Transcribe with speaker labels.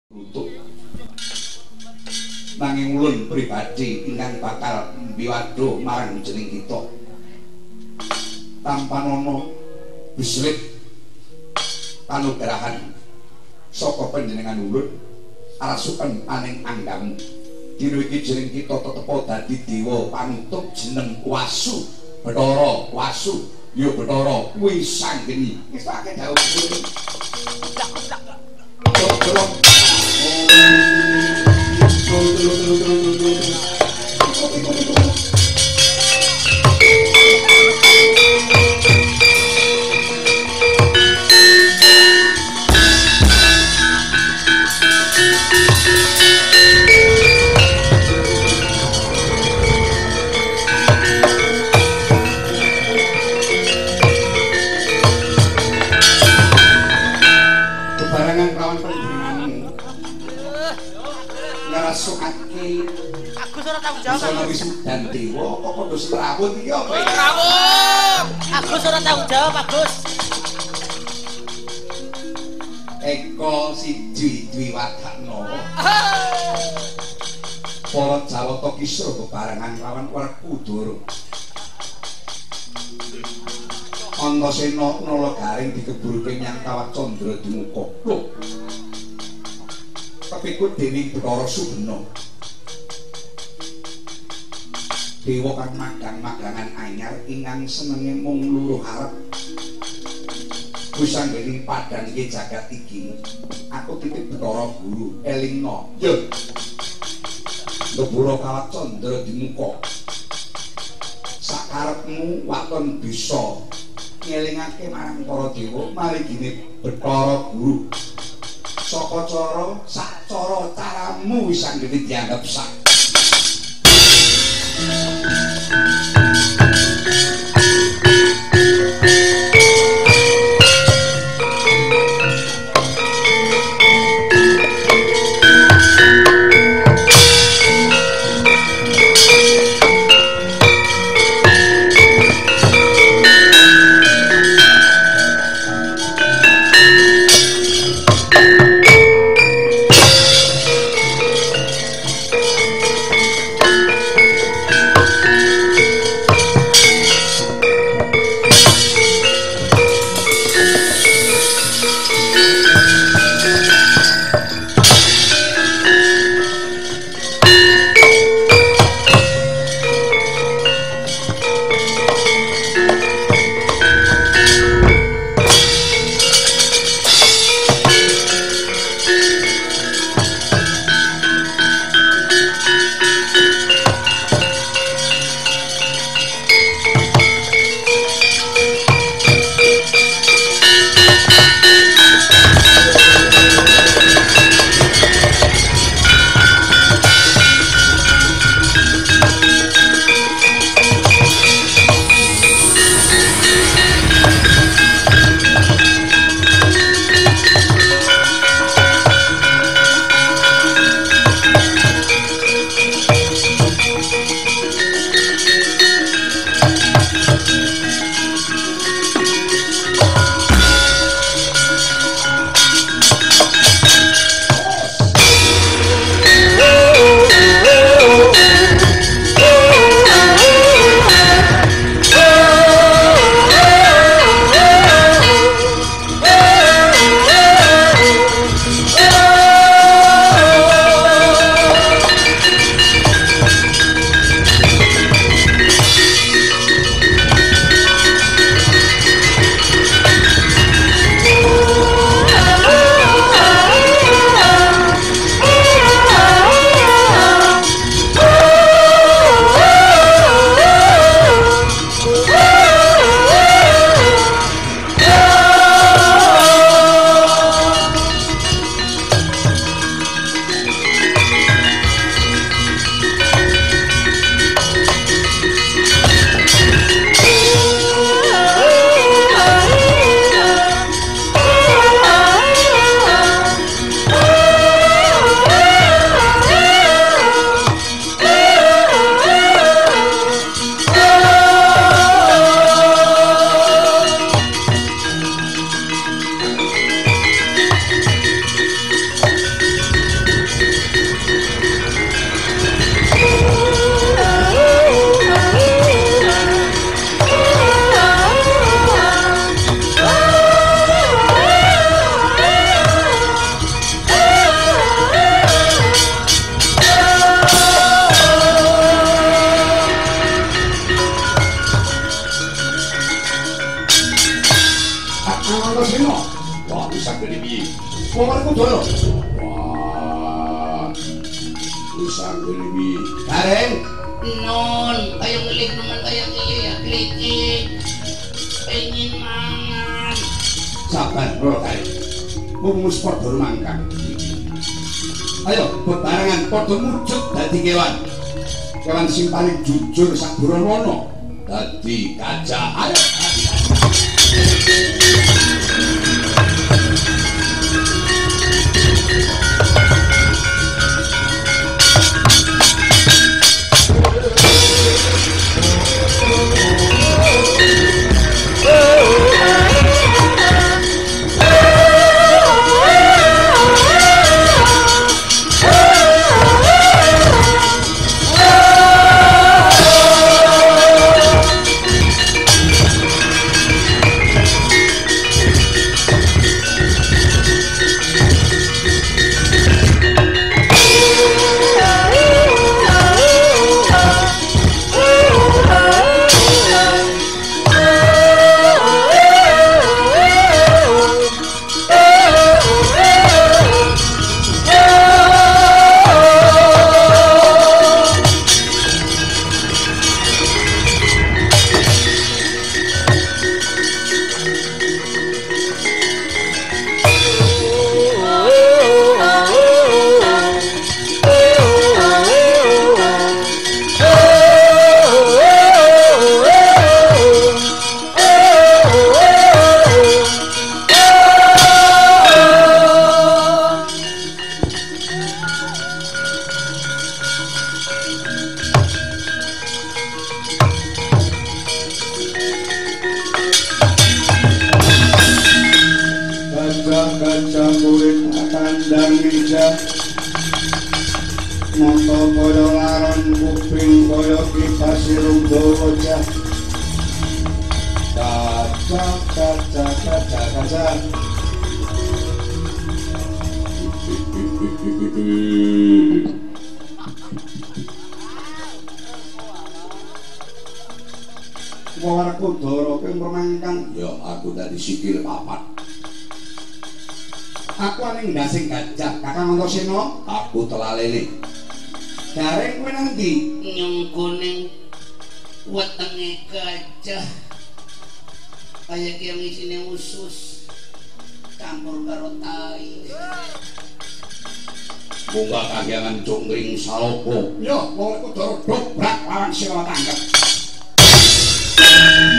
Speaker 1: untuk nanging ulun pribadi ingkang bakal mbiwadha marang jeneng kita tanpa nono bislit panugrahan saka panjenengan ulun arasuken aning anggamu dina iki jeneng kita tetepa dadi dewa panutup jeneng Wasu Bathara Wasu ya Bathara kuwi sanggeni wis akeh dawuh wisudan dewa kok padha serawut iki apa ya?
Speaker 2: Serawut. Agus ora tanggung jawab, Agus.
Speaker 1: Eko siji Dwiwadakna. Para Jawata Kisra bebarengan lawan Werkudara. Antasena Nalagaring dikeburke nyang Kawat Candra Dimuka. Lho. Kepikut dening Bathara Subena. Dewa kang magang-magangan anyar ingkang senenge mung luruh arep. Wis anggening padhang iki jagat iki. Aku titip Bathara Guru elingna. Ya. Lebura Kawat Candra Dimuka. Sakarepmu waton bisa ngelingake marang para dewa marigine Bathara Guru. Saka cara sak cara caramu wis anggene dianggep sak. piye? Wong arep Kudara. Wah. Wis anggere piye? Gareng.
Speaker 2: Non, kayak ngelik nemen kayak ngelik ya klik. Pengen mangan.
Speaker 1: Sabar, Bro Kai. Mumus padha mangkang. Ayo, bebarengan padha mujud dadi kewan. Kewan sing paling jujur sak Burawana. Dadi gajah. Ayo. Gajah kulit kandang ijah mata kaya laron kuping kaya kipas irung dawa jah gajah Wong Kudara ping mangkang ya aku dadi sikil papat. Aku aning ndasing gajah, Kakang Antasena, aku telalene. Gareng kowe nang ndi?
Speaker 2: Nyungkuning wetenge gajah. Kaya ki yang isine usus campur karo tai.
Speaker 1: Munggah kagiangan cungkring salopo. Yo, wong Kudara dobrak lawan sira tangkep.